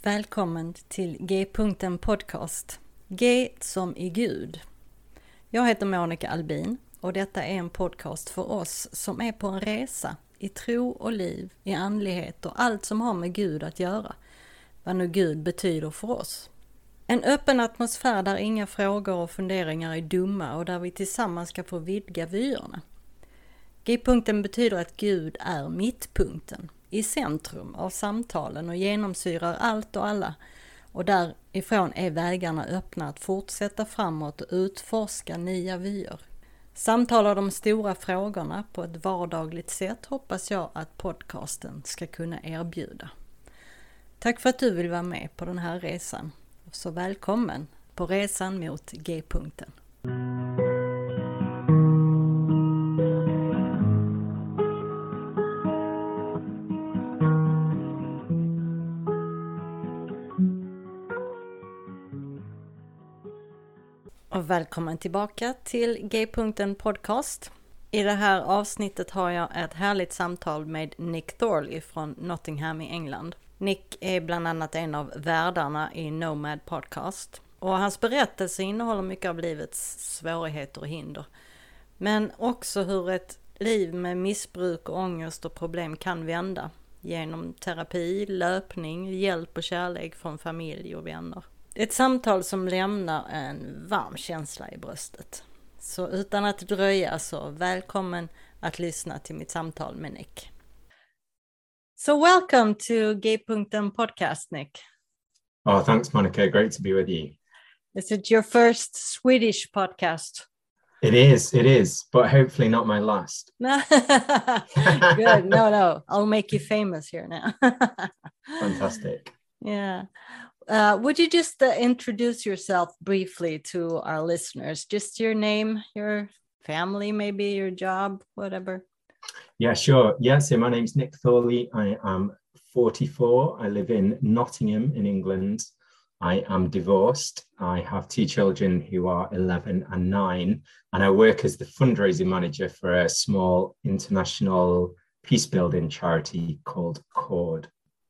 Välkommen till G-punkten podcast. G som i Gud. Jag heter Monica Albin och detta är en podcast för oss som är på en resa i tro och liv, i andlighet och allt som har med Gud att göra. Vad nu Gud betyder för oss. En öppen atmosfär där inga frågor och funderingar är dumma och där vi tillsammans ska få vidga vyerna. G-punkten betyder att Gud är mittpunkten, i centrum av samtalen och genomsyrar allt och alla. Och därifrån är vägarna öppna att fortsätta framåt och utforska nya vyer. Samtala de stora frågorna på ett vardagligt sätt hoppas jag att podcasten ska kunna erbjuda. Tack för att du vill vara med på den här resan. Så välkommen på resan mot G-punkten. Och välkommen tillbaka till G-punkten podcast. I det här avsnittet har jag ett härligt samtal med Nick Thorley från Nottingham i England. Nick är bland annat en av värdarna i Nomad podcast. Och hans berättelse innehåller mycket av livets svårigheter och hinder. Men också hur ett liv med missbruk och ångest och problem kan vända. Genom terapi, löpning, hjälp och kärlek från familj och vänner. Ett samtal som lämnar en varm känsla i bröstet. Så utan att dröja så välkommen att lyssna till mitt samtal med Nick. So welcome to G-punkten podcast, Nick. Oh, thanks, Monica. Great to be with you. Is it your first Swedish podcast? It is, but hopefully not my last. Good. No. I'll make you famous here now. Fantastic. Yeah. Would you just introduce yourself briefly to our listeners? Just your name, your family, maybe your job, whatever. Yeah, sure. Yeah, so my name's Nick Thorley. I am 44. I live in Nottingham in England. I am divorced. I have two children who are 11 and 9, and I work as the fundraising manager for a small international peace building charity called CORD.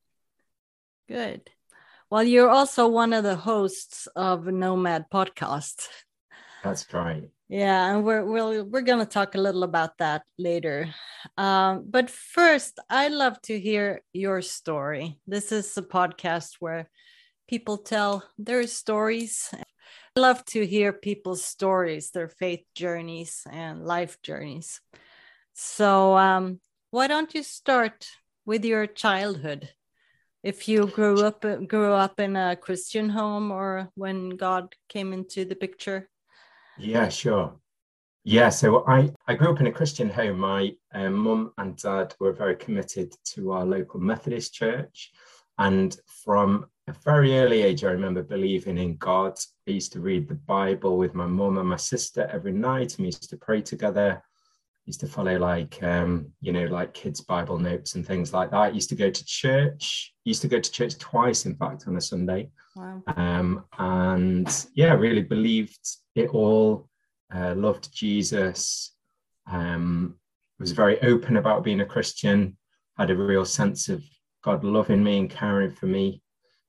Good. Well, you're also one of the hosts of Nomad podcast. That's right. Yeah, and we're going to talk a little about that later. But first, I'd love to hear your story. This is a podcast where people tell their stories. I love to hear people's stories, their faith journeys and life journeys. So why don't you start with your childhood? If you grew up in a Christian home or when God came into the picture? Yeah, sure. Yeah, so I grew up in a Christian home. My mum and dad were very committed to our local Methodist church. And from a very early age, I remember believing in God. I used to read the Bible with my mum and my sister every night, and we used to pray together. Used to follow like kids' Bible notes and things like that. Used to go to church. Used to go to church twice, in fact, on a Sunday. Wow. And yeah, really believed it all. Loved Jesus. Was very open about being a Christian. Had a real sense of God loving me and caring for me.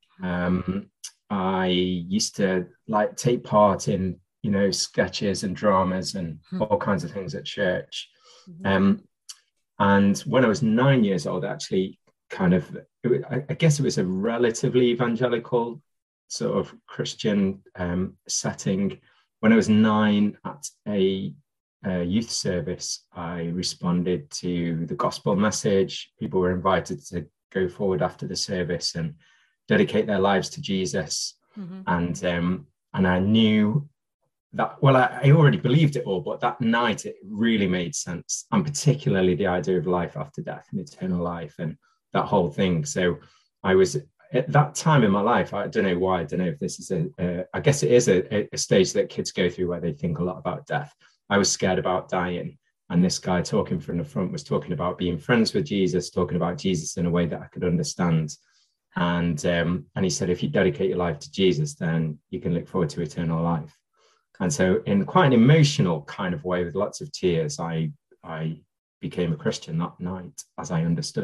I used to like take part in sketches and dramas and all kinds of things at church. And when I was 9 years old, actually, I guess it was a relatively evangelical sort of Christian setting. When I was 9 at a youth service, I responded to the gospel message. People were invited to go forward after the service and dedicate their lives to Jesus. And I knew that, well, I already believed it all, but that night it really made sense, and particularly the idea of life after death and eternal life and that whole thing. So I was at that time in my life, I don't know why, I don't know if this is I guess it is a stage that kids go through where they think a lot about death. I was scared about dying, and this guy talking from the front was talking about being friends with Jesus, talking about Jesus in a way that I could understand. And he said, if you dedicate your life to Jesus, then you can look forward to eternal life. And so in quite an emotional kind of way with lots of tears, I became a Christian that night as I understood it.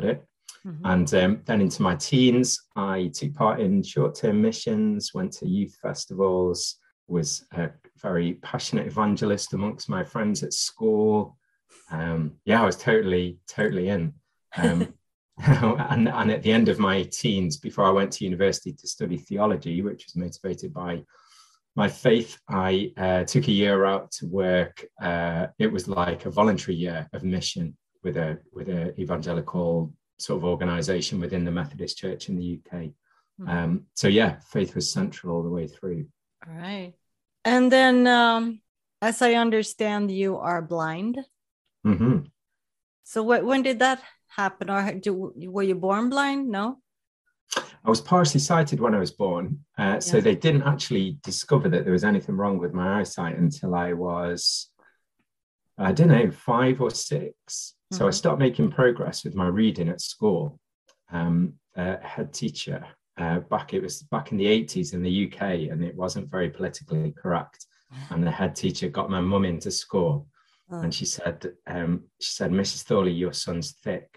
And then into my teens, I took part in short-term missions, went to youth festivals, was a very passionate evangelist amongst my friends at school. I was totally in. And at the end of my teens, before I went to university to study theology, which was motivated by my faith, I took a year out to work. It was like a voluntary year of mission with a evangelical sort of organization within the Methodist Church in the UK. Faith was central all the way through. All right. And then, as I understand, you are blind. Mm-hmm. So when did that happen? Or were you born blind? No? I was partially sighted when I was born. So they didn't actually discover that there was anything wrong with my eyesight until I was, 5 or 6. So I started making progress with my reading at school. A head teacher, back in the 80s in the UK, and it wasn't very politically correct. And the head teacher got my mum into school, and she said, "Mrs. Thorley, your son's thick."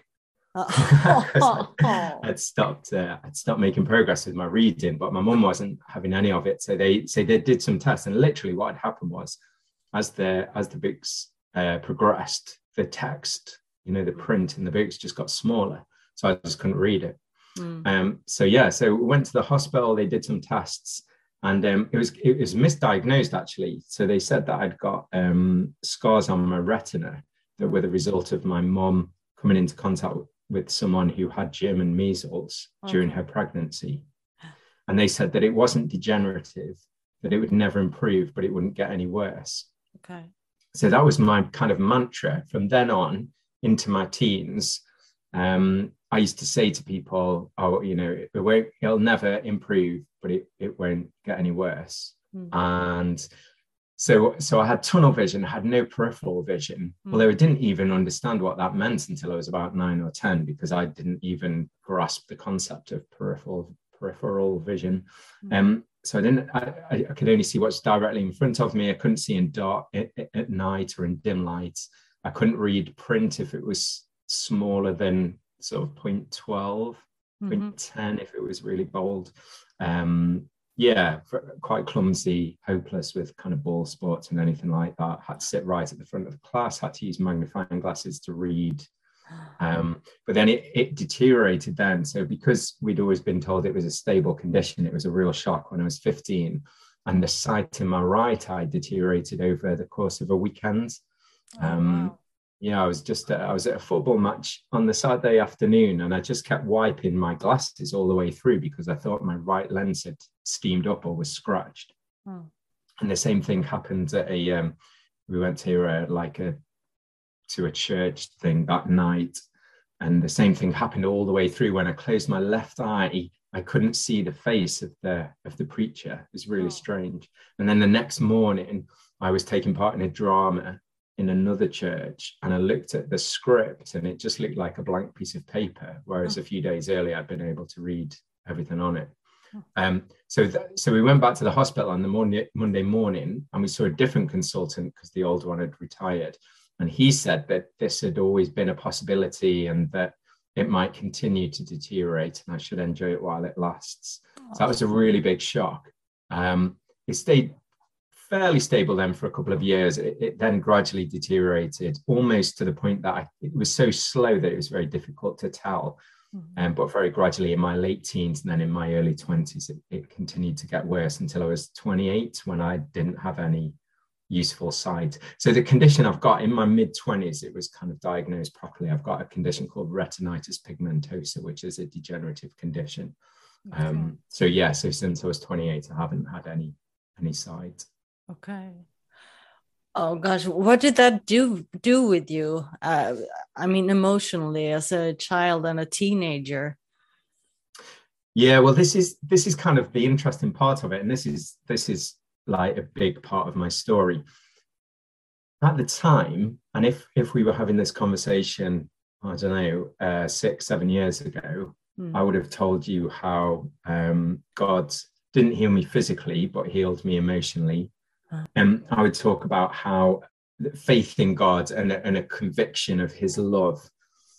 I'd stopped making progress with my reading, but my mum wasn't having any of it. So they did some tests, and literally what had happened was, as the books progressed, the text, the print in the books just got smaller, so I just couldn't read it. So we went to the hospital. They did some tests, and it was misdiagnosed actually. So they said that I'd got scars on my retina that were the result of my mum coming into contact with someone who had German measles during her pregnancy. And they said that it wasn't degenerative, that it would never improve, but it wouldn't get any worse. Okay. So that was my kind of mantra from then on into my teens. I used to say to people, it'll never improve, but it won't get any worse. And so I had tunnel vision, I had no peripheral vision, although I didn't even understand what that meant until I was about 9 or 10, because I didn't even grasp the concept of peripheral vision. So I could only see what's directly in front of me. I couldn't see in dark at night or in dim light. I couldn't read print if it was smaller than sort of 0.12, 0.10 if it was really bold. Quite clumsy, hopeless with kind of ball sports and anything like that. Had to sit right at the front of the class, had to use magnifying glasses to read. But then it deteriorated then. So because we'd always been told it was a stable condition, it was a real shock when I was 15. And the sight in my right eye deteriorated over the course of a weekend. Wow. I was at a football match on the Saturday afternoon, and I just kept wiping my glasses all the way through because I thought my right lens had steamed up or was scratched. And the same thing happened at we went to a church thing that night, and the same thing happened all the way through. When I closed my left eye, I couldn't see the face of the preacher. It was really strange. And then the next morning, I was taking part in a drama in another church, and I looked at the script and it just looked like a blank piece of paper, whereas a few days earlier I'd been able to read everything on it. So we went back to the hospital on the Monday morning, and we saw a different consultant because the old one had retired, and he said that this had always been a possibility and that it might continue to deteriorate and I should enjoy it while it lasts. So that was a really big shock. It stayed fairly stable then for a couple of years. It then gradually deteriorated almost to the point that it was so slow that it was very difficult to tell. But very gradually in my late teens and then in my early 20s, it continued to get worse until I was 28, when I didn't have any useful sight. So the condition I've got in my mid-20s, it was kind of diagnosed properly. I've got a condition called retinitis pigmentosa, which is a degenerative condition. So since I was 28, I haven't had any sight. Okay. Oh gosh, what did that do with you? Emotionally, as a child and a teenager. Yeah, well, this is kind of the interesting part of it, and this is like a big part of my story. At the time, and if we were having this conversation, I don't know, 6-7 years ago, I would have told you how God didn't heal me physically, but healed me emotionally. And I would talk about how faith in God and a conviction of his love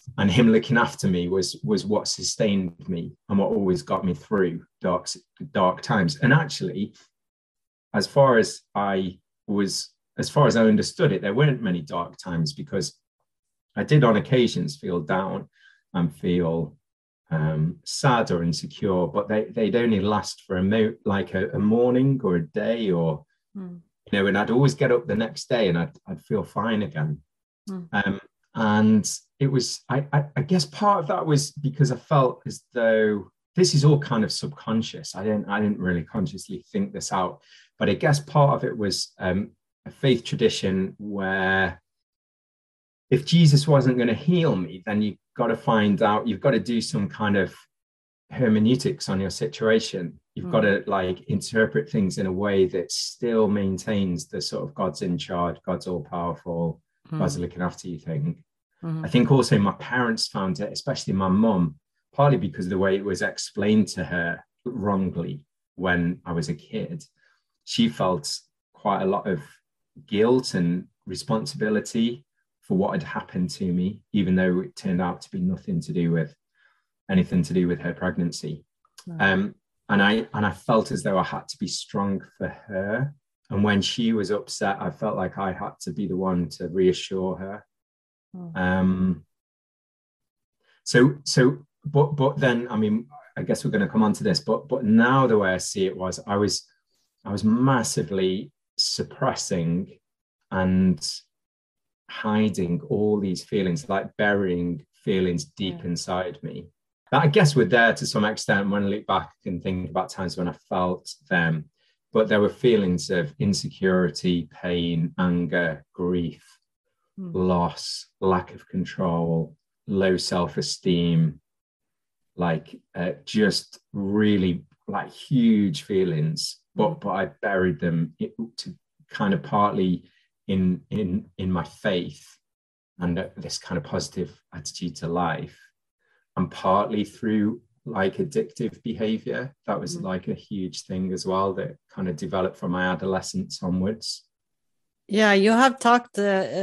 And him looking after me was what sustained me and what always got me through dark times. And actually, as far as I understood it, there weren't many dark times, because I did on occasions feel down and feel sad or insecure, but they'd only last for a morning or a day, or and I'd always get up the next day and I'd feel fine again. And it was, I guess part of that was because I felt as though this is all kind of subconscious. I didn't really consciously think this out, but I guess part of it was a faith tradition where if Jesus wasn't going to heal me, then you've got to do some kind of hermeneutics on your situation. You've got to interpret things in a way that still maintains the sort of God's in charge, God's all powerful, God's looking after you thing. I think also my parents found it, especially my mum, partly because of the way it was explained to her wrongly when I was a kid. She felt quite a lot of guilt and responsibility for what had happened to me, even though it turned out to be anything to do with her pregnancy. And I felt as though I had to be strong for her. And when she was upset, I felt like I had to be the one to reassure her. But then, I mean, I guess we're going to come on to this, but now the way I see it was, I was massively suppressing and hiding all these feelings, like burying feelings deep inside me. That I guess were there to some extent when I look back and think about times when I felt them, but there were feelings of insecurity, pain, anger, grief, loss, lack of control, low self-esteem, just really huge feelings, but I buried them to kind of partly in my faith and this kind of positive attitude to life, and partly through addictive behavior. That was a huge thing as well that kind of developed from my adolescence onwards. Yeah, you have talked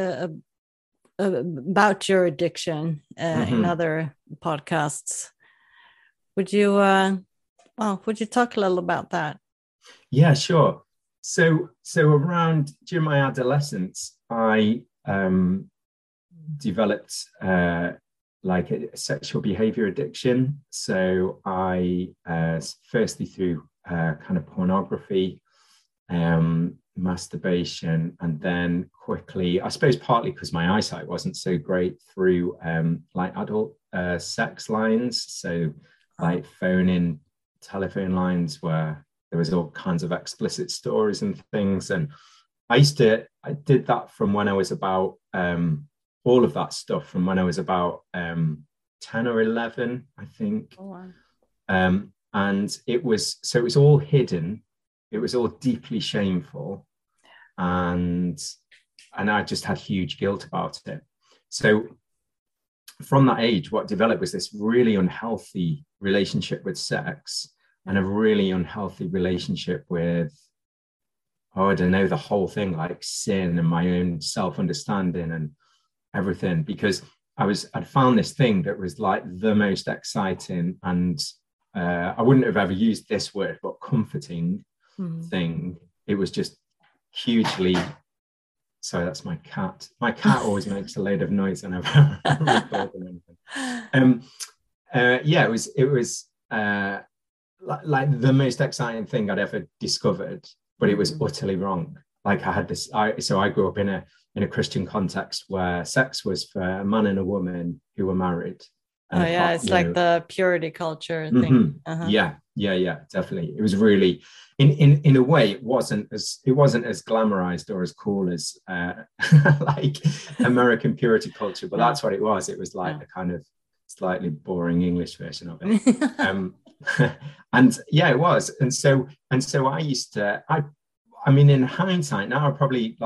about your addiction in other podcasts. Would you talk a little about that? Yeah, sure. So around during my adolescence, I developed a sexual behavior addiction. So I firstly through kind of pornography, masturbation, and then quickly, I suppose partly because my eyesight wasn't so great, through adult sex lines. So phone-in telephone lines where there was all kinds of explicit stories and things. And I did that from when I was about all of that stuff from when I was about 10 or 11, I think. Oh, wow. And it was all hidden. It was all deeply shameful. And I just had huge guilt about it. So from that age, what developed was this really unhealthy relationship with sex and a really unhealthy relationship with, I don't know, the whole thing, like sin and my own self-understanding and everything, because I'd found this thing that was like the most exciting and I wouldn't have ever used this word, but comforting thing. It was just hugely. Sorry, that's my cat. My cat always makes a load of noise whenever I'm recording anything. It was like the most exciting thing I'd ever discovered, but it was utterly wrong. Like I had this. I grew up in a Christian context where sex was for a man and a woman who were married. It's like the purity culture thing. Yeah, definitely. It was really, in a way, it wasn't as glamorized or as cool as like American purity culture, but that's what it was. It was like a kind of slightly boring English version of it. And yeah, it was. And so I used to. I mean, in hindsight, now I probably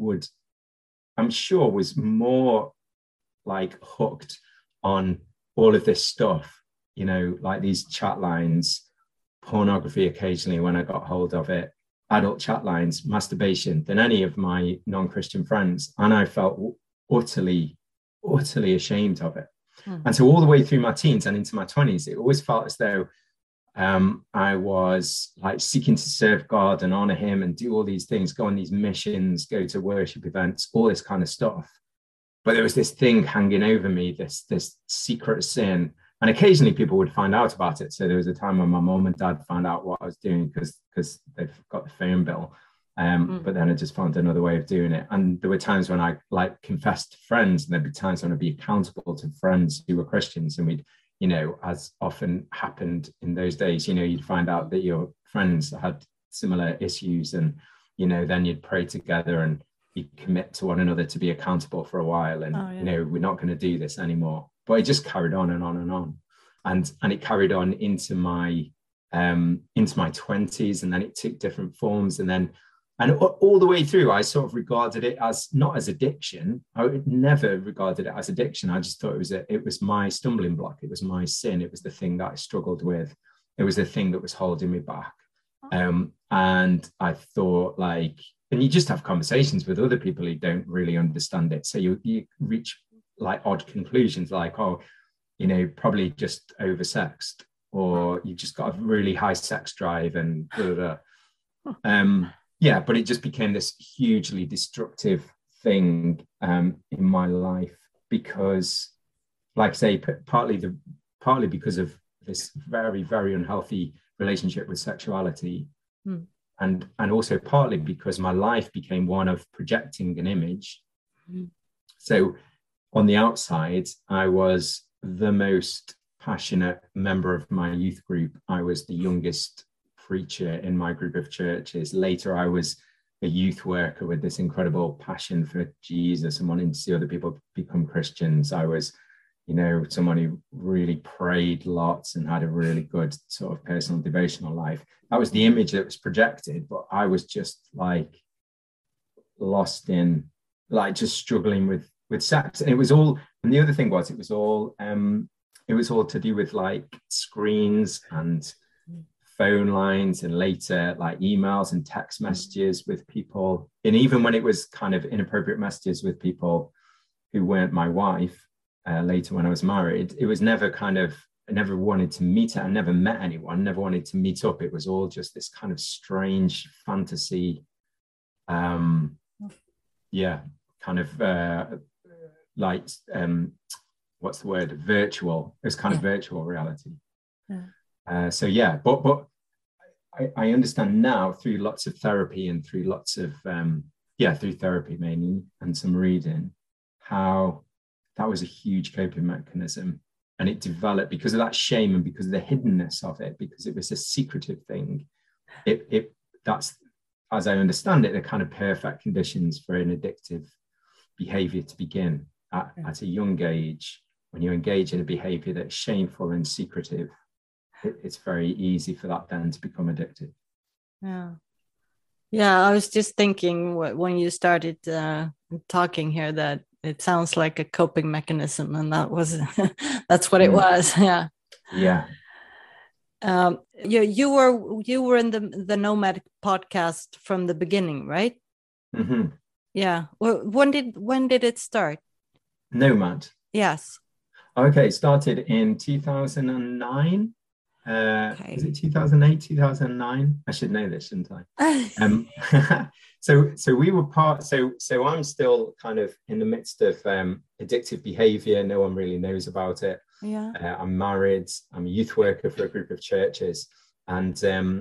I'm sure was more hooked on all of this stuff, like these chat lines, pornography occasionally when I got hold of it, adult chat lines, masturbation, than any of my non-Christian friends. And I felt utterly ashamed of it. And so all the way through my teens and into my 20s, it always felt as though I was like seeking to serve God and honor him and do all these things, go on these missions, go to worship events, all this kind of stuff. But there was this thing hanging over me, this secret sin. And occasionally people would find out about it. So there was a time when my mom and dad found out what I was doing because they've got the phone bill. But then I just found another way of doing it. And there were times when I like confessed to friends, and there'd be times when I'd be accountable to friends who were Christians. And we'd, as often happened in those days, you'd find out that your friends had similar issues, and, then you'd pray together and you'd commit to one another to be accountable for a while. And, we're not going to do this anymore. But it just carried on and on and on. And it carried on into my 20s, and then it took different forms. And all the way through, I sort of regarded it as not as addiction. I would never regarded it as addiction. I just thought it was my stumbling block. It was my sin. It was the thing that I struggled with. It was the thing that was holding me back. And I thought, and you just have conversations with other people who don't really understand it. So you reach like odd conclusions, like, probably just oversexed, or you've just got a really high sex drive and blah, blah, blah. Yeah, but it just became this hugely destructive thing in my life because, like I say, partly because of this very, very unhealthy relationship with sexuality, and also partly because my life became one of projecting an image. So on the outside, I was the most passionate member of my youth group. I was the youngest preacher in my group of churches. Later, I was a youth worker with this incredible passion for Jesus and wanting to see other people become Christians. I was, someone who really prayed lots and had a really good sort of personal devotional life. That was the image that was projected, but I was just like lost in, like just struggling with sex. And it was all, and the other thing was, it was all to do with like screens and phone lines, and later like emails and text messages with people. And even when it was kind of inappropriate messages with people who weren't my wife, later when I was married, it was never I never wanted to meet her. I never met anyone, never wanted to meet up. It was all just this kind of strange fantasy. What's the word? Virtual. It was kind of virtual reality. But I understand now through lots of therapy and through lots of through therapy mainly and some reading, how that was a huge coping mechanism, and it developed because of that shame and because of the hiddenness of it, because it was a secretive thing. That's, as I understand it, the kind of perfect conditions for an addictive behavior to begin at a young age. When you engage in a behavior that's shameful and secretive, it's very easy for that then to become addictive. Yeah, I was just thinking when you started talking here that it sounds like a coping mechanism, and that's what it was. You were in the Nomad podcast from the beginning, right? Yeah. Well, when did it start? Nomad. Yes. Okay, it started in 2009. Is it 2008, 2009? I should know this, shouldn't I? So we were so I'm still kind of in the midst of addictive behavior. No one really knows about it. I'm married. I'm a youth worker for a group of churches, and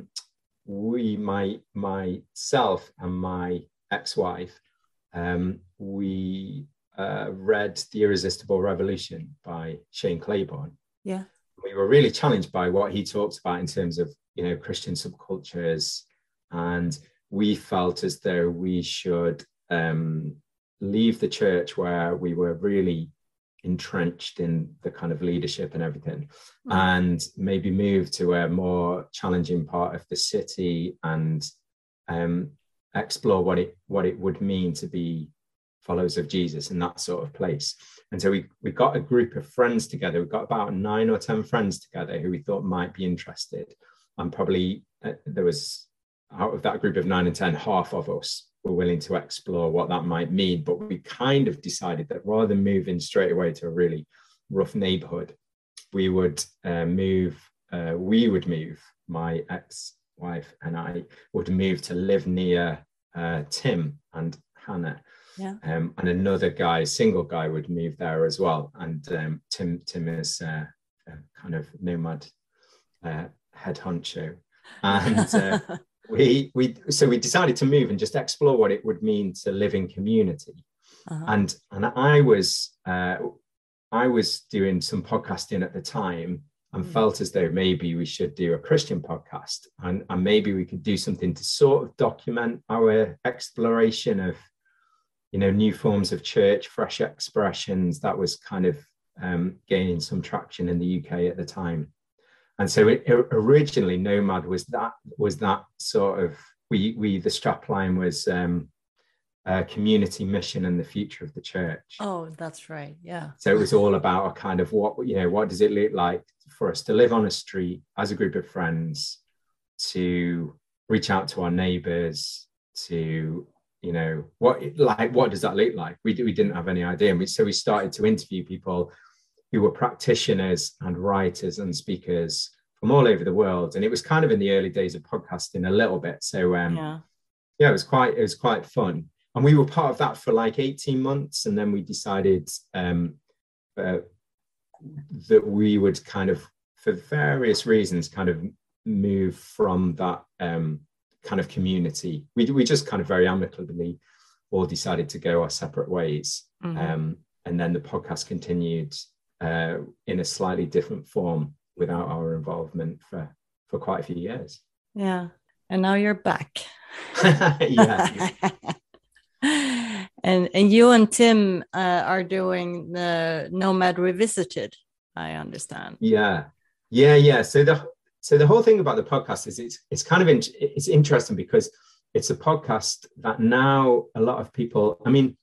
myself and my ex-wife, we read The Irresistible Revolution by Shane Claiborne. We were really challenged by what he talks about in terms of, Christian subcultures. And we felt as though we should leave the church where we were really entrenched in the kind of leadership and everything, and maybe move to a more challenging part of the city and explore what it would mean to be followers of Jesus in that sort of place. And so we got a group of friends together. We got about 9 or 10 friends together who we thought might be interested. And probably there was, out of that group of 9 and 10, half of us were willing to explore what that might mean. But we kind of decided that rather than moving straight away to a really rough neighborhood, we would move, my ex-wife and I would move to live near Tim and Hannah. Yeah. And another guy, single guy, would move there as well. And Tim is a kind of nomad head honcho. And we decided to move and just explore what it would mean to live in community. And I was doing some podcasting at the time and felt as though maybe we should do a Christian podcast, and maybe we could do something to sort of document our exploration of, new forms of church, fresh expressions. That was kind of gaining some traction in the UK at the time. And so originally Nomad was that sort of, the strapline was community, mission, and the future of the church. Oh, that's right. Yeah. So it was all about a kind of what does it look like for us to live on a street as a group of friends, to reach out to our neighbors, to, what does that look like? We didn't have any idea. And so we started to interview people who were practitioners and writers and speakers from all over the world. And it was kind of in the early days of podcasting a little bit. So it was quite fun. And we were part of that for like 18 months. And then we decided that we would kind of, for various reasons, kind of move from that kind of community. We just kind of very amicably all decided to go our separate ways. And then the podcast continued in a slightly different form without our involvement for quite a few years. Yeah. And now you're back. Yeah. And you and Tim are doing the Nomad Revisited, I understand. Yeah. So the whole thing about the podcast is it's kind of it's interesting because it's a podcast that now a lot of people, I mean,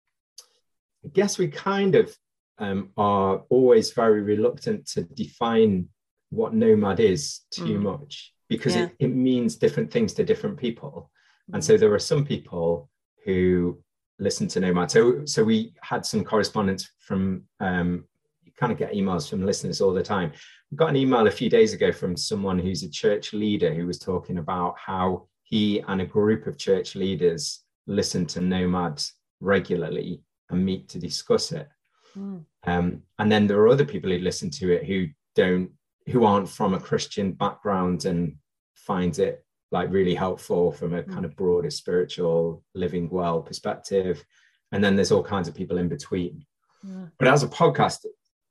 I guess we kind of are always very reluctant to define what nomad is too much, because it means different things to different people. And so there are some people who listen to Nomad. So we had some correspondence from, you kind of get emails from listeners all the time. We got an email a few days ago from someone who's a church leader who was talking about how he and a group of church leaders listen to Nomad regularly and meet to discuss it. And then there are other people who listen to it who aren't from a Christian background and find it like really helpful from a kind of broader spiritual living well perspective. And then there's all kinds of people in between. But as a podcast,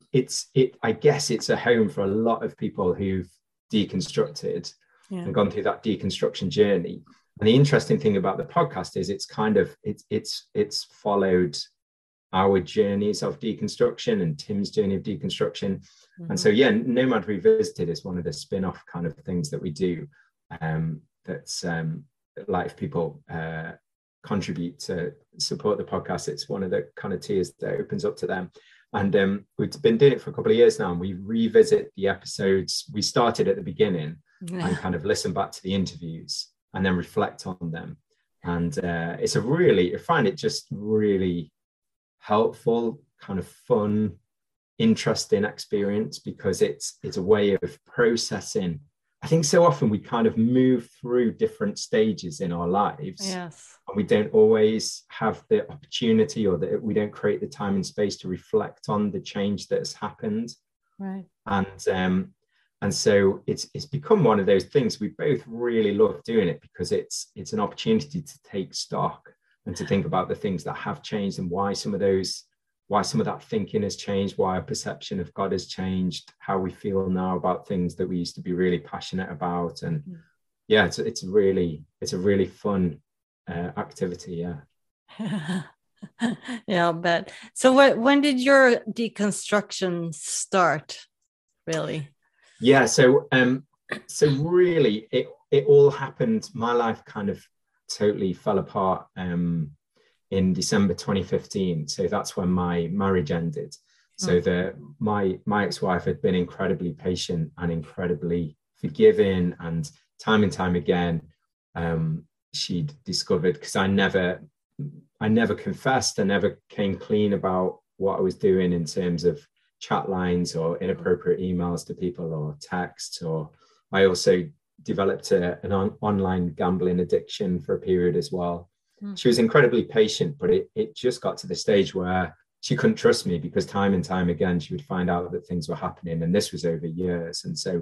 I guess it's a home for a lot of people who've deconstructed and gone through that deconstruction journey. And the interesting thing about the podcast is it's followed our journeys of deconstruction and Tim's journey of deconstruction. And so, Nomad Revisited is one of the spin-off kind of things that we do. That's like if people contribute to support the podcast, it's one of the kind of tiers that opens up to them. And we've been doing it for a couple of years now, and we revisit the episodes we started at the beginning and kind of listen back to the interviews and then reflect on them. And I find it just really helpful, kind of fun, interesting experience, because it's a way of processing. I think so often we kind of move through different stages in our lives, and we don't always have the opportunity, or that we don't create the time and space to reflect on the change that has happened. Right. And so it's become one of those things we both really love doing it, because it's an opportunity to take stock and to think about the things that have changed and why some of that thinking has changed, why our perception of God has changed, how we feel now about things that we used to be really passionate about. And it's a really fun activity. Yeah, but so when did your deconstruction start, really? Yeah, so really it all happened. My life kind of totally fell apart in December 2015. So that's when my marriage ended. So my ex-wife had been incredibly patient and incredibly forgiving, and time again she'd discovered, because I never confessed, I never came clean about what I was doing in terms of chat lines or inappropriate emails to people or texts. Or I also developed an online gambling addiction for a period as well. She was incredibly patient, but it just got to the stage where she couldn't trust me, because time and time again she would find out that things were happening, and this was over years. And so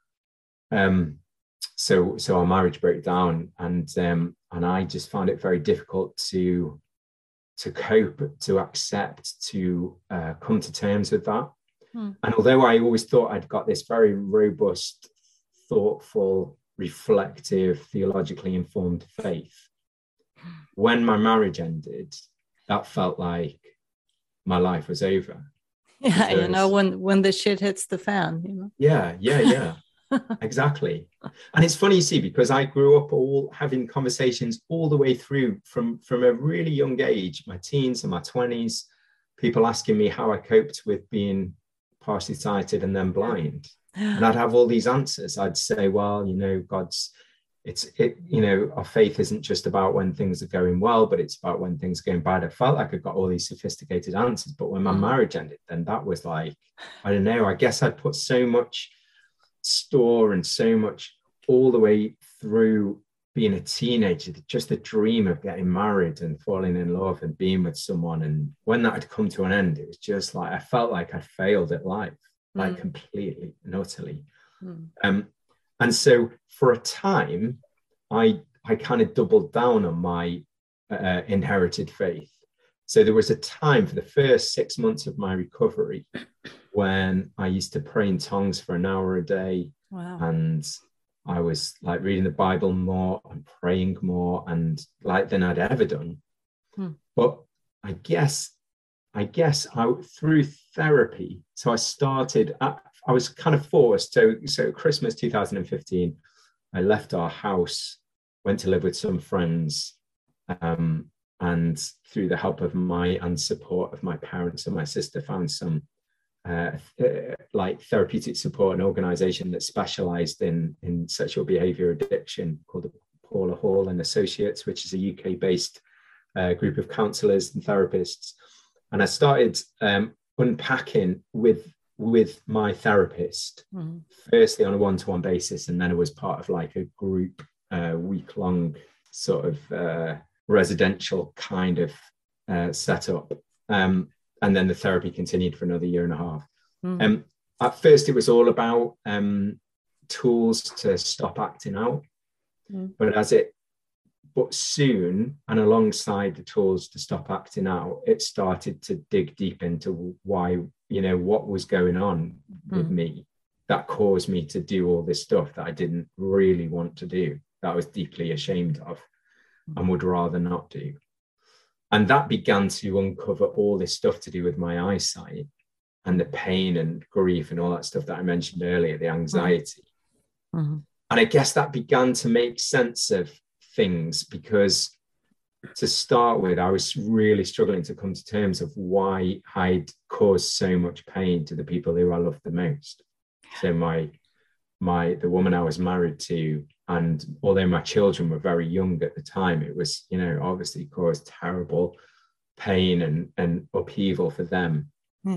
our marriage broke down, and I just found it very difficult to cope, to accept, to come to terms with that. And although I always thought I'd got this very robust, thoughtful, reflective, theologically informed faith, when my marriage ended, that felt like my life was over. Yeah, because, when the shit hits the fan, Yeah. Exactly. And it's funny, you see, because I grew up all having conversations all the way through from a really young age, my teens and my 20s, people asking me how I coped with being partially sighted and then blind. And I'd have all these answers. I'd say, well, our faith isn't just about when things are going well, but it's about when things are going bad. I felt like I got all these sophisticated answers, but when my marriage ended, then that was like, I don't know, I guess I'd put so much store and so much all the way through being a teenager, just the dream of getting married and falling in love and being with someone. And when that had come to an end, it was just like, I felt like I failed at life, like completely and utterly. And so for a time, I kind of doubled down on my inherited faith. So there was a time for the first 6 months of my recovery when I used to pray in tongues for an hour a day. Wow. And I was like reading the Bible more and praying more and like than I'd ever done. But I guess through therapy, so I was kind of forced. So Christmas 2015, I left our house, went to live with some friends, and through the help of and support of my parents and my sister, found some like therapeutic support, an organization that specialized in sexual behavior addiction called the Paula Hall and Associates, which is a UK-based group of counselors and therapists. And I started unpacking with my therapist, firstly on a one-to-one basis, and then it was part of like a group week-long sort of residential kind of setup. And then the therapy continued for another year and a half. At first, it was all about tools to stop acting out. But soon, and alongside the tools to stop acting out, it started to dig deep into why, what was going on with me that caused me to do all this stuff that I didn't really want to do, that I was deeply ashamed of and would rather not do. And that began to uncover all this stuff to do with my eyesight and the pain and grief and all that stuff that I mentioned earlier, the anxiety. And I guess that began to make sense of things, because to start with, I was really struggling to come to terms of why I'd caused so much pain to the people who I loved the most. So the woman I was married to, and although my children were very young at the time, it was, obviously caused terrible pain and upheaval for them.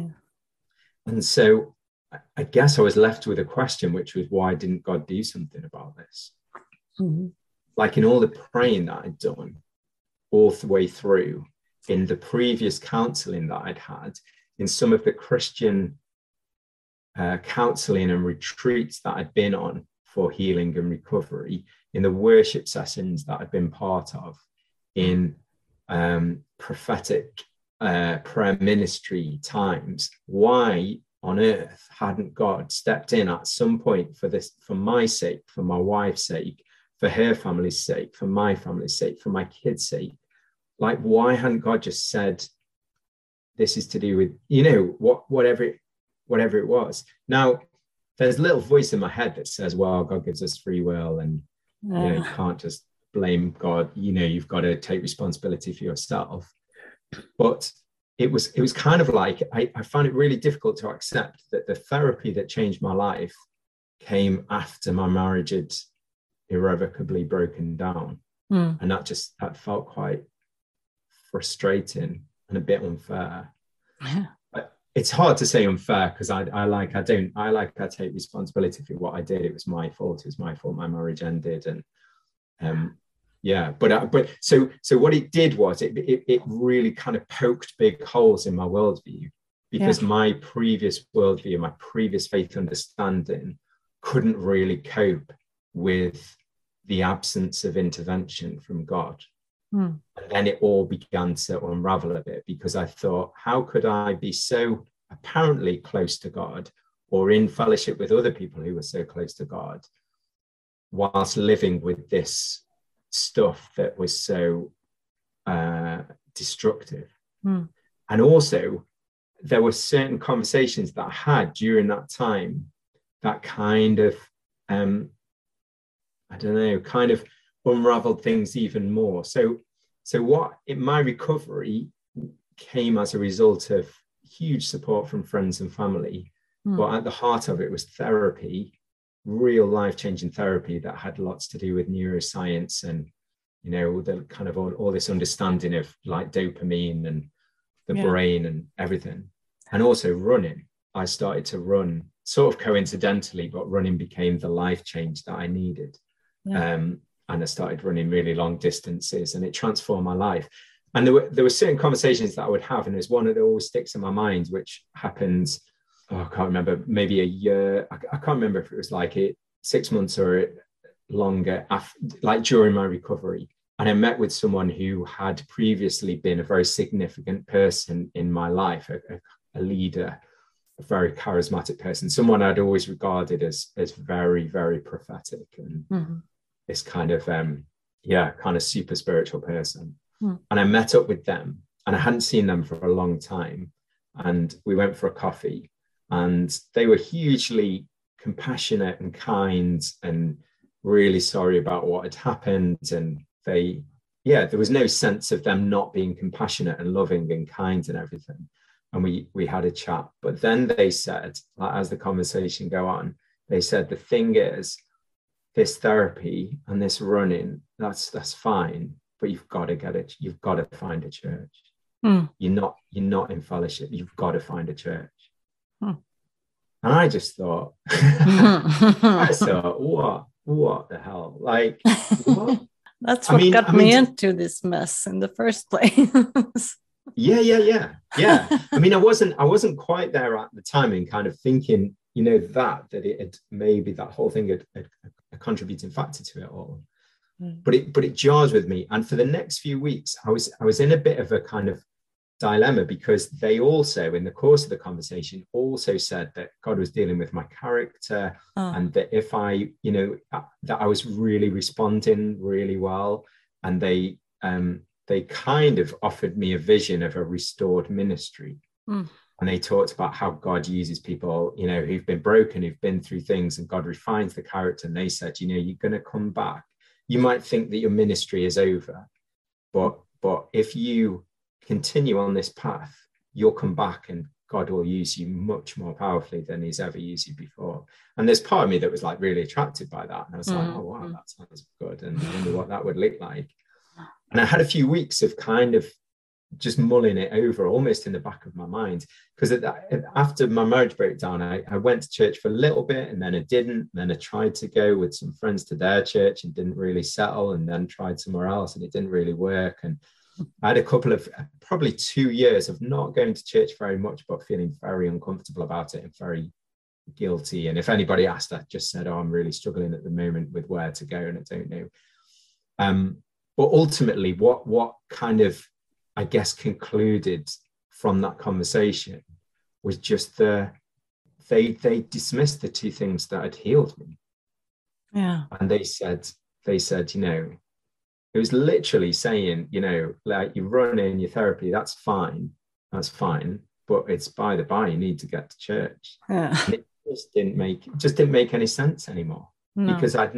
And so I guess I was left with a question, which was, why didn't God do something about this? Like in all the praying that I'd done all the way through, in the previous counseling that I'd had, in some of the Christian counseling and retreats that I'd been on for healing and recovery, in the worship sessions that I'd been part of, in prophetic prayer ministry times, why on earth hadn't God stepped in at some point for my sake, for my wife's sake, for her family's sake, for my family's sake, for my kids' sake? Like, why hadn't God just said, this is to do with, whatever it was? Now, there's a little voice in my head that says, well, God gives us free will, and you can't just blame God. You've got to take responsibility for yourself. But it was kind of like, I found it really difficult to accept that the therapy that changed my life came after my marriage had irrevocably broken down. And that felt quite frustrating and a bit unfair. it's hard to say unfair, because I take responsibility for what I did. It was my fault. It was my fault. My marriage ended, and so what it did was it really kind of poked big holes in my worldview, because my previous worldview, my previous faith understanding couldn't really cope with the absence of intervention from God. And then it all began to unravel a bit, because I thought, how could I be so apparently close to God, or in fellowship with other people who were so close to God, whilst living with this stuff that was so destructive? And also, there were certain conversations that I had during that time that kind of, I don't know, kind of unraveled things even more. So what in my recovery came as a result of huge support from friends and family, but at the heart of it was therapy, real life-changing therapy that had lots to do with neuroscience and, you know, the kind of all this understanding of like dopamine and the brain and everything. And also running. I started to run sort of coincidentally, but running became the life change that I needed. And I started running really long distances, and it transformed my life. And there were certain conversations that I would have, and there's one that always sticks in my mind, which happened, I can't remember, maybe a year. I can't remember if it was like 6 months or longer, like during my recovery. And I met with someone who had previously been a very significant person in my life, a leader, a very charismatic person, someone I'd always regarded as very, very prophetic, and this kind of kind of super spiritual person. And I met up with them, and I hadn't seen them for a long time, and we went for a coffee, and they were hugely compassionate and kind and really sorry about what had happened. And there was no sense of them not being compassionate and loving and kind and everything. And we had a chat. But then they said, like, as the conversation go on, they said, the thing is, this therapy and this running, that's fine, but you've got to get it. You've got to find a church. You're not in fellowship. You've got to find a church. And I just thought, what the hell? Like, what? That's what got me into this mess in the first place. Yeah. I mean, I wasn't quite there at the time, and kind of thinking, you know, that it had, maybe that whole thing had a contributing factor to it all. But it jars with me. And for the next few weeks, I was in a bit of a kind of dilemma, because they also, in the course of the conversation, also said that God was dealing with my character, and that if I, you know, that I was really responding really well. And they kind of offered me a vision of a restored ministry. And they talked about how God uses people, you know, who've been broken, who've been through things, and God refines the character. And they said, you know, you're going to come back. You might think that your ministry is over, but if you continue on this path, you'll come back, and God will use you much more powerfully than he's ever used you before. And there's part of me that was like really attracted by that. And I was like, oh, wow, that sounds good. And I wonder what that would look like. And I had a few weeks of kind of just mulling it over, almost in the back of my mind, because after my marriage breakdown, I went to church for a little bit, and then I didn't. And then I tried to go with some friends to their church and didn't really settle, and then tried somewhere else and it didn't really work. And I had a couple of probably 2 years of not going to church very much, but feeling very uncomfortable about it and very guilty. And if anybody asked, I just said, oh, I'm really struggling at the moment with where to go, and I don't know. But ultimately, what kind of, I guess, concluded from that conversation was just they dismissed the two things that had healed me. Yeah. And they said, you know, it was literally saying, you know, like, you're running your therapy, that's fine, but it's by the by, you need to get to church. Yeah. And it just didn't make any sense anymore. No. Because I'd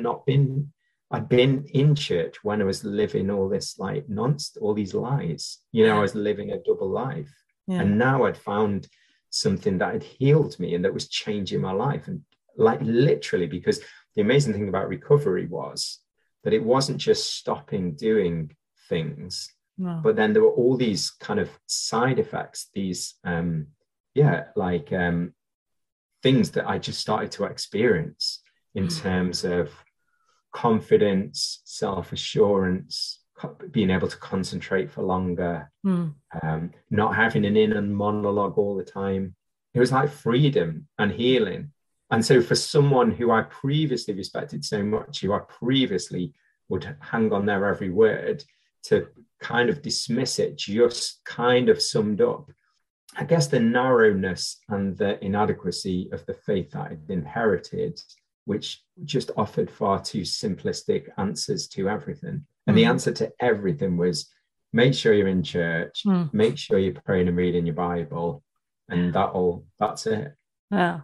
been in church when I was living all this like all these lies, you know, I was living a double life. Yeah. And now I'd found something that had healed me and that was changing my life. And like literally, because the amazing thing about recovery was that it wasn't just stopping doing things, but then there were all these kind of side effects, these yeah, like things that I just started to experience in terms of confidence, self-assurance, being able to concentrate for longer, not having an inner monologue all the time. It was like freedom and healing. And so for someone who I previously respected so much, who I previously would hang on their every word, to kind of dismiss it just kind of summed up, I guess, the narrowness and the inadequacy of the faith that I'd inherited, which just offered far too simplistic answers to everything. And the answer to everything was, make sure you're in church, make sure you're praying and reading your Bible, and that's it. Yeah.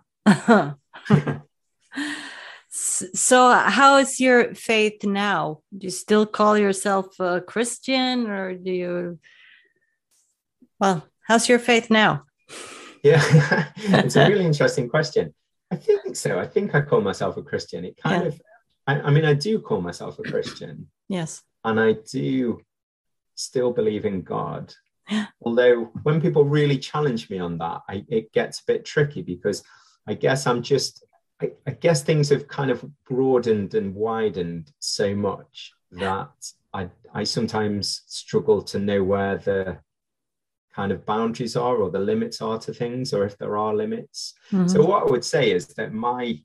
So how is your faith now? Do you still call yourself a Christian, or do you, well, how's your faith now? Yeah, it's a really interesting question. I think so. I think I call myself a Christian. It kind of, I mean, I do call myself a Christian. Yes. And I do still believe in God. Although when people really challenge me on that, it gets a bit tricky, because I guess I guess things have kind of broadened and widened so much that I sometimes struggle to know where the kind of boundaries are, or the limits are to things, or if there are limits. So what I would say is that my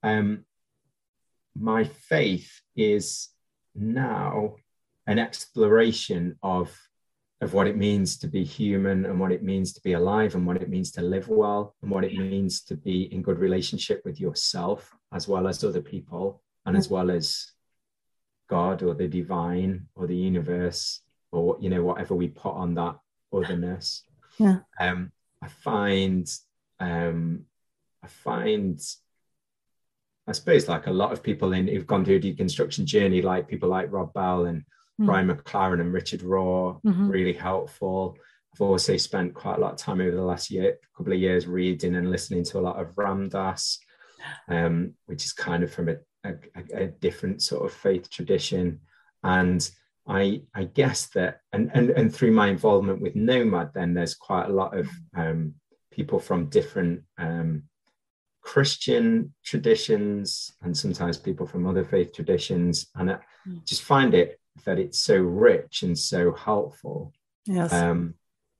faith is now an exploration of what it means to be human, and what it means to be alive, and what it means to live well, and what it means to be in good relationship with yourself, as well as other people, and as well as God, or the divine, or the universe, or, you know, whatever we put on that otherness. I find I suppose, like a lot of people who've gone through a deconstruction journey, like people like Rob Bell and Brian McLaren and Richard Rohr, really helpful. I've also spent quite a lot of time over the last couple of years reading and listening to a lot of Ram Dass, which is kind of from a different sort of faith tradition. And I guess that, and through my involvement with Nomad, then there's quite a lot of people from different Christian traditions, and sometimes people from other faith traditions, and I just find it that it's so rich and so helpful. Yes. And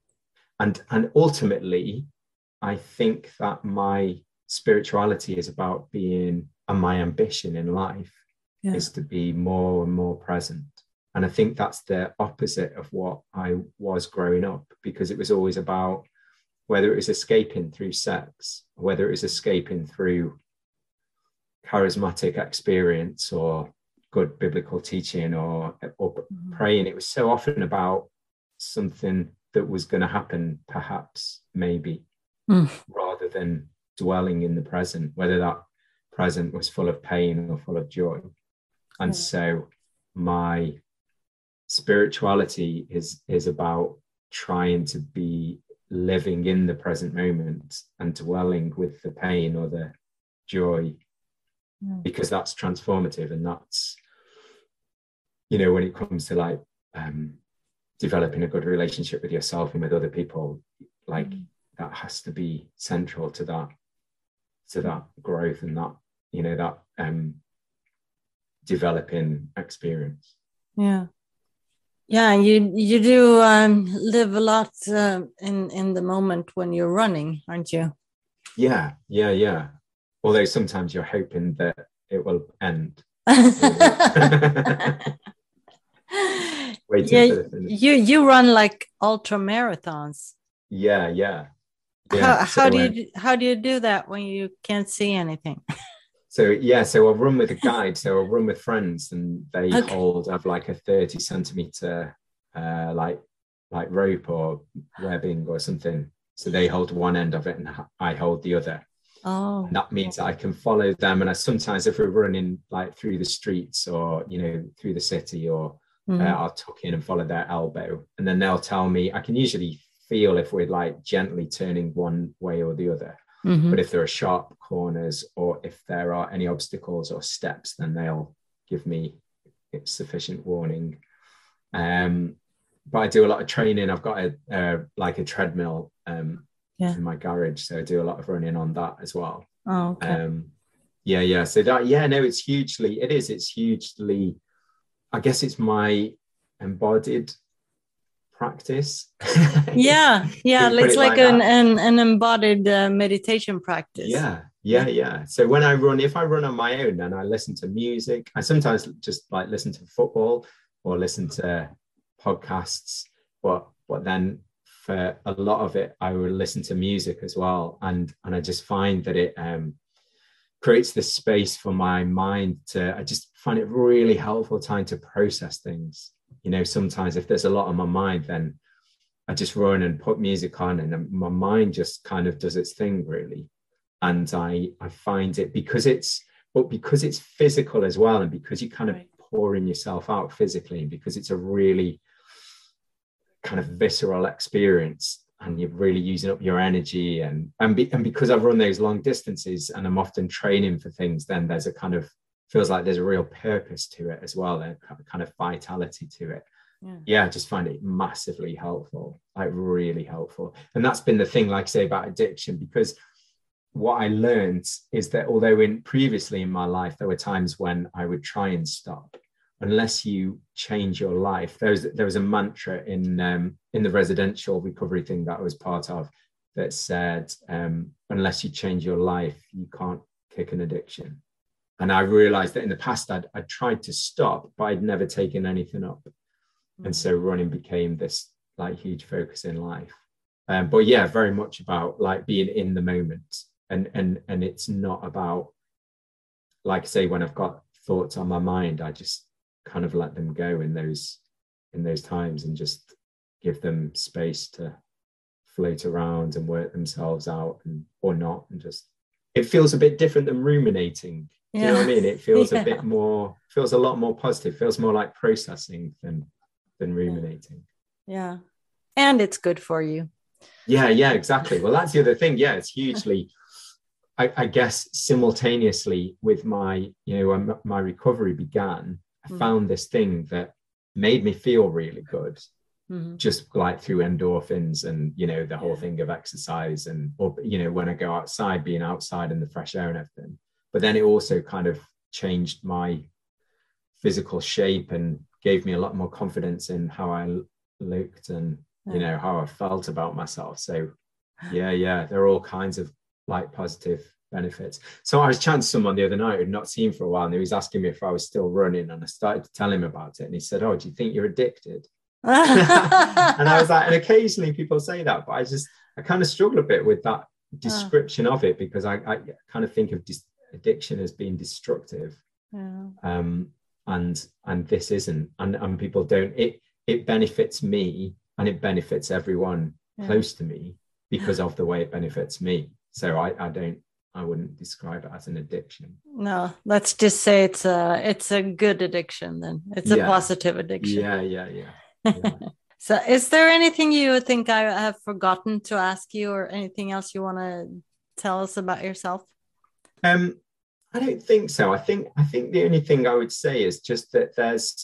ultimately, I think that my spirituality is about being, and my ambition in life is to be more and more present. And I think that's the opposite of what I was growing up, because it was always about whether it was escaping through sex, whether it was escaping through charismatic experience or good biblical teaching or praying. It was so often about something that was going to happen, perhaps, maybe, rather than dwelling in the present, whether that present was full of pain or full of joy. And so my spirituality is about trying to be living in the present moment and dwelling with the pain or the joy, because that's transformative. And that's, you know, when it comes to like developing a good relationship with yourself and with other people, like that has to be central to that growth and that, you know, that developing experience. Yeah, you do live a lot in the moment when you're running, aren't you? Yeah. Although sometimes you're hoping that it will end. You run like ultra marathons. Yeah. How do you do that when you can't see anything? So I'll run with a guide. So I'll run with friends, and they have like a 30 centimeter like rope or webbing or something. So they hold one end of it and I hold the other. Oh, and that means that I can follow them. And sometimes if we're running like through the streets or, you know, through the city, or I'll tuck in and follow their elbow, and then they'll tell me. I can usually feel if we're like gently turning one way or the other. But if there are sharp corners or if there are any obstacles or steps, then they'll give me sufficient warning. But I do a lot of training. I've got a treadmill Yeah. in my garage, so I do a lot of running on that as well. Oh, okay. Yeah. So that, yeah, no, it's hugely, I guess it's my embodied practice. Yeah, You put it's it like like that. an embodied meditation practice. Yeah. So when if I run on my own, then I listen to music. I sometimes just like listen to football or listen to podcasts, but then for a lot of it, I will listen to music as well, and I just find that it creates this space for my mind to. I just find it really helpful time to process things. Sometimes if there's a lot on my mind, then I just run and put music on, and my mind just kind of does its thing, really. And I find it because it's physical as well, and because you kind of pouring yourself out physically, and because it's a really kind of visceral experience, and you're really using up your energy, and because I've run those long distances and I'm often training for things, then there's a kind of feels like there's a real purpose to it as well, a kind of vitality to it. I just find it massively helpful, like really helpful. And that's been the thing, like I say, about addiction, because what I learned is that although previously in my life there were times when I would try and stop, unless you change your life. There was a mantra in the residential recovery thing that I was part of that said, unless you change your life, you can't kick an addiction. And I realized that in the past I'd tried to stop, but I'd never taken anything up. And so running became this like huge focus in life. But yeah, very much about like being in the moment. And it's not about, like I say, when I've got thoughts on my mind, I just kind of let them go in those times and just give them space to float around and work themselves out, or not, and just, it feels a bit different than ruminating. Do you know what I mean? It feels a bit more, feels a lot more positive, feels more like processing than ruminating. Yeah. And it's good for you. Yeah, exactly. Well, that's the other thing. Yeah, it's hugely, I guess, simultaneously with my, when my recovery began, I found this thing that made me feel really good, just like through endorphins and, the whole thing of exercise and, or, when I go outside, being outside in the fresh air and everything. But then it also kind of changed my physical shape and gave me a lot more confidence in how I looked and, how I felt about myself. So yeah, there are all kinds of like positive benefits. So I was chatting to someone the other night who'd not seen for a while, and he was asking me if I was still running, and I started to tell him about it, and he said, "Oh, do you think you're addicted?" And I was like, and occasionally people say that, but I kind of struggle a bit with that description of it, because I kind of think of addiction as being destructive. And this isn't, and people don't, it benefits me and it benefits everyone close to me because of the way it benefits me. So I wouldn't describe it as an addiction. No, let's just say it's a good addiction then. It's a positive addiction. Yeah. So is there anything you think I have forgotten to ask you, or anything else you want to tell us about yourself? I don't think so. I think the only thing I would say is just that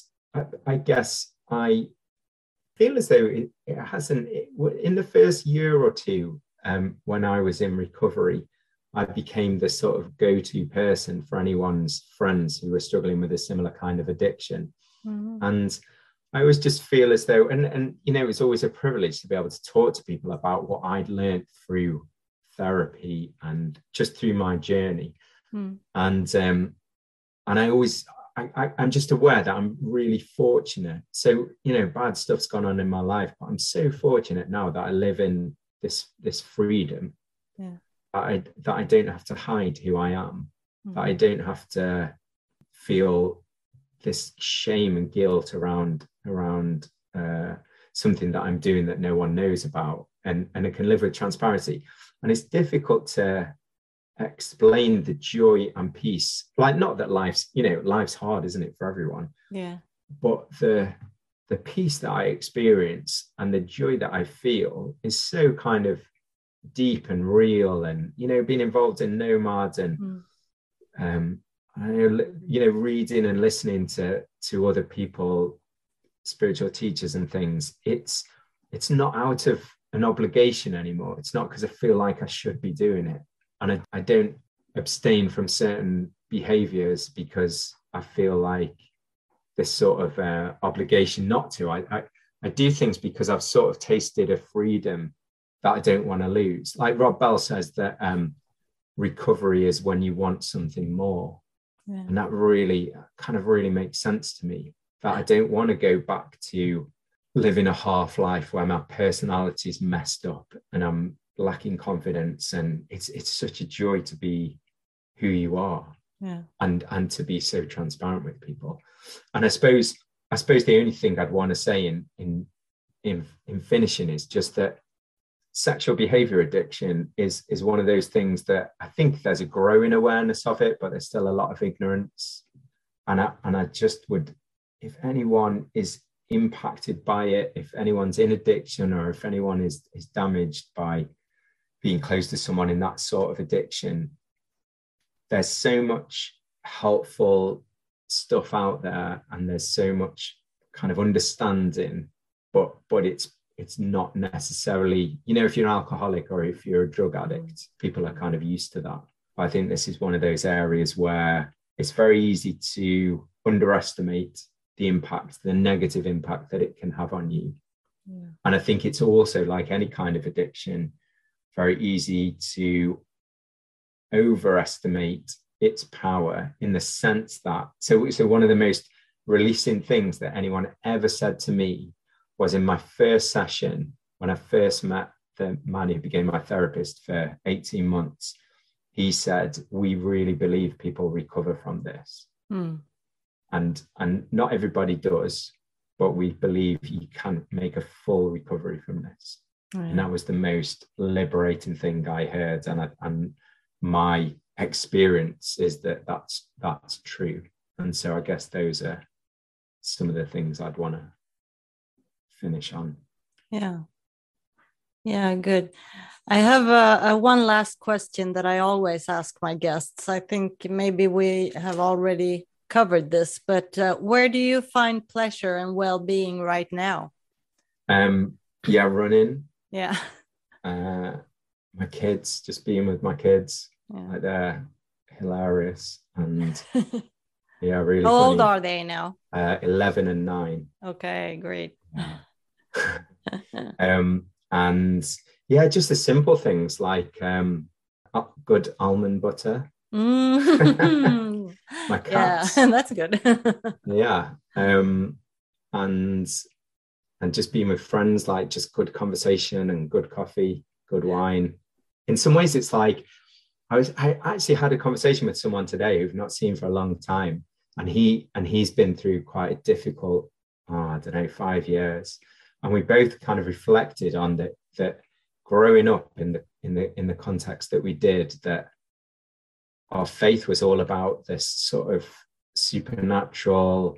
I guess I feel as though it hasn't, in the first year or two, when I was in recovery, I became the sort of go-to person for anyone's friends who were struggling with a similar kind of addiction. And I always just feel as though, and it's always a privilege to be able to talk to people about what I'd learned through therapy and just through my journey. And I'm just aware that I'm really fortunate. So, bad stuff's gone on in my life, but I'm so fortunate now that I live in this freedom. That I don't have to hide who I am, that I don't have to feel this shame and guilt around something that I'm doing that no one knows about, and I can live with transparency. And it's difficult to explain the joy and peace, like, not that life's hard, isn't it, for everyone? But the peace that I experience and the joy that I feel is so kind of deep and real. And being involved in Nomads and reading and listening to other people, spiritual teachers and things, it's not out of an obligation anymore. It's not because I feel like I should be doing it. And I don't abstain from certain behaviors because I feel like this sort of obligation not to. I do things because I've sort of tasted a freedom that I don't want to lose. Like Rob Bell says that recovery is when you want something more. Yeah. And that really makes sense to me, that I don't want to go back to living a half life where my personality is messed up and I'm lacking confidence. And it's such a joy to be who you are. Yeah. And to be so transparent with people. And I suppose the only thing I'd want to say in finishing is just that sexual behavior addiction is one of those things that I think there's a growing awareness of it, but there's still a lot of ignorance. And I just would, if anyone is impacted by it, if anyone's in addiction, or if anyone is damaged by being close to someone in that sort of addiction, there's so much helpful stuff out there, and there's so much kind of understanding, but it's not necessarily, if you're an alcoholic or if you're a drug addict, people are kind of used to that. I think this is one of those areas where it's very easy to underestimate the negative impact that it can have on you. Yeah. And I think it's also, like any kind of addiction, very easy to overestimate its power, in the sense that, so one of the most releasing things that anyone ever said to me was in my first session, when I first met the man who became my therapist for 18 months. He said, "We really believe people recover from this." And not everybody does, but we believe you can make a full recovery from this. And that was the most liberating thing I heard. And my experience is that that's true. And so I guess those are some of the things I'd want to finish on. Yeah, good. I have a one last question that I always ask my guests. I think maybe we have already covered this, but where do you find pleasure and well-being right now? Running. Yeah. My kids, just being with my kids. Yeah. Like, they're hilarious, and really. How old are they now? 11 and 9. Okay, great. And just the simple things like good almond butter. My cats. Yeah, that's good. And just being with friends, like just good conversation and good coffee, good wine. In some ways, it's like I actually had a conversation with someone today who've not seen for a long time, and he's been through quite a difficult, 5 years, and we both kind of reflected on that growing up in the context that we did, that our faith was all about this sort of supernatural,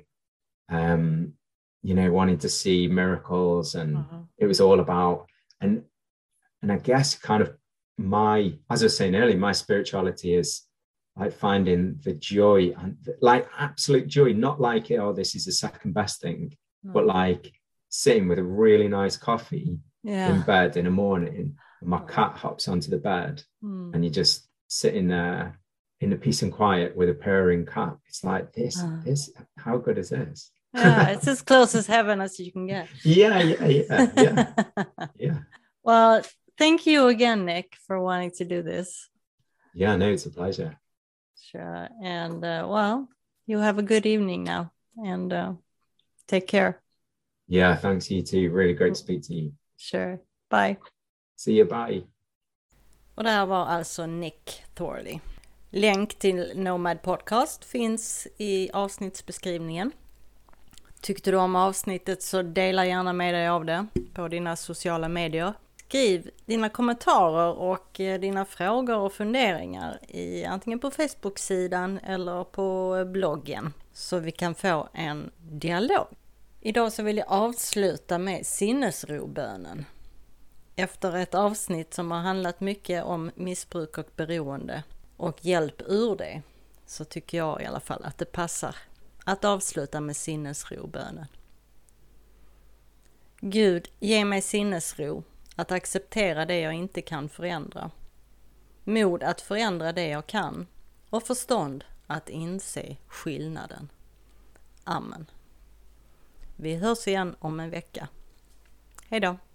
wanting to see miracles, and it was all about, and I guess kind of as I was saying earlier, my spirituality is like finding the joy, and like absolute joy, not like, this is the second best thing, but like sitting with a really nice coffee in bed in the morning, and my cat hops onto the bed, and you just sitting there in the peace and quiet with a purring cat. It's like this, how good is this? It's as close as heaven as you can get. Yeah. Well, thank you again, Nick, for wanting to do this. Yeah, no, it's a pleasure. Sure. And you have a good evening now, and take care. Yeah, thanks, you too. Really great to speak to you. Sure. Bye. See you, bye. Och det här var alltså Nick Thorley. Länk till Nomad Podcast finns i avsnittsbeskrivningen. Tyckte du om avsnittet så dela gärna med dig av det på dina sociala medier. Skriv dina kommentarer och dina frågor och funderingar antingen på Facebook-sidan eller på bloggen, så vi kan få en dialog. Idag så vill jag avsluta med sinnesrobönen. Efter ett avsnitt som har handlat mycket om missbruk och beroende och hjälp ur det, så tycker jag i alla fall att det passar att avsluta med sinnesrobönen. Gud, ge mig sinnesro att acceptera det jag inte kan förändra, mod att förändra det jag kan och förstånd att inse skillnaden. Amen. Vi hörs igen om en vecka. Hej då!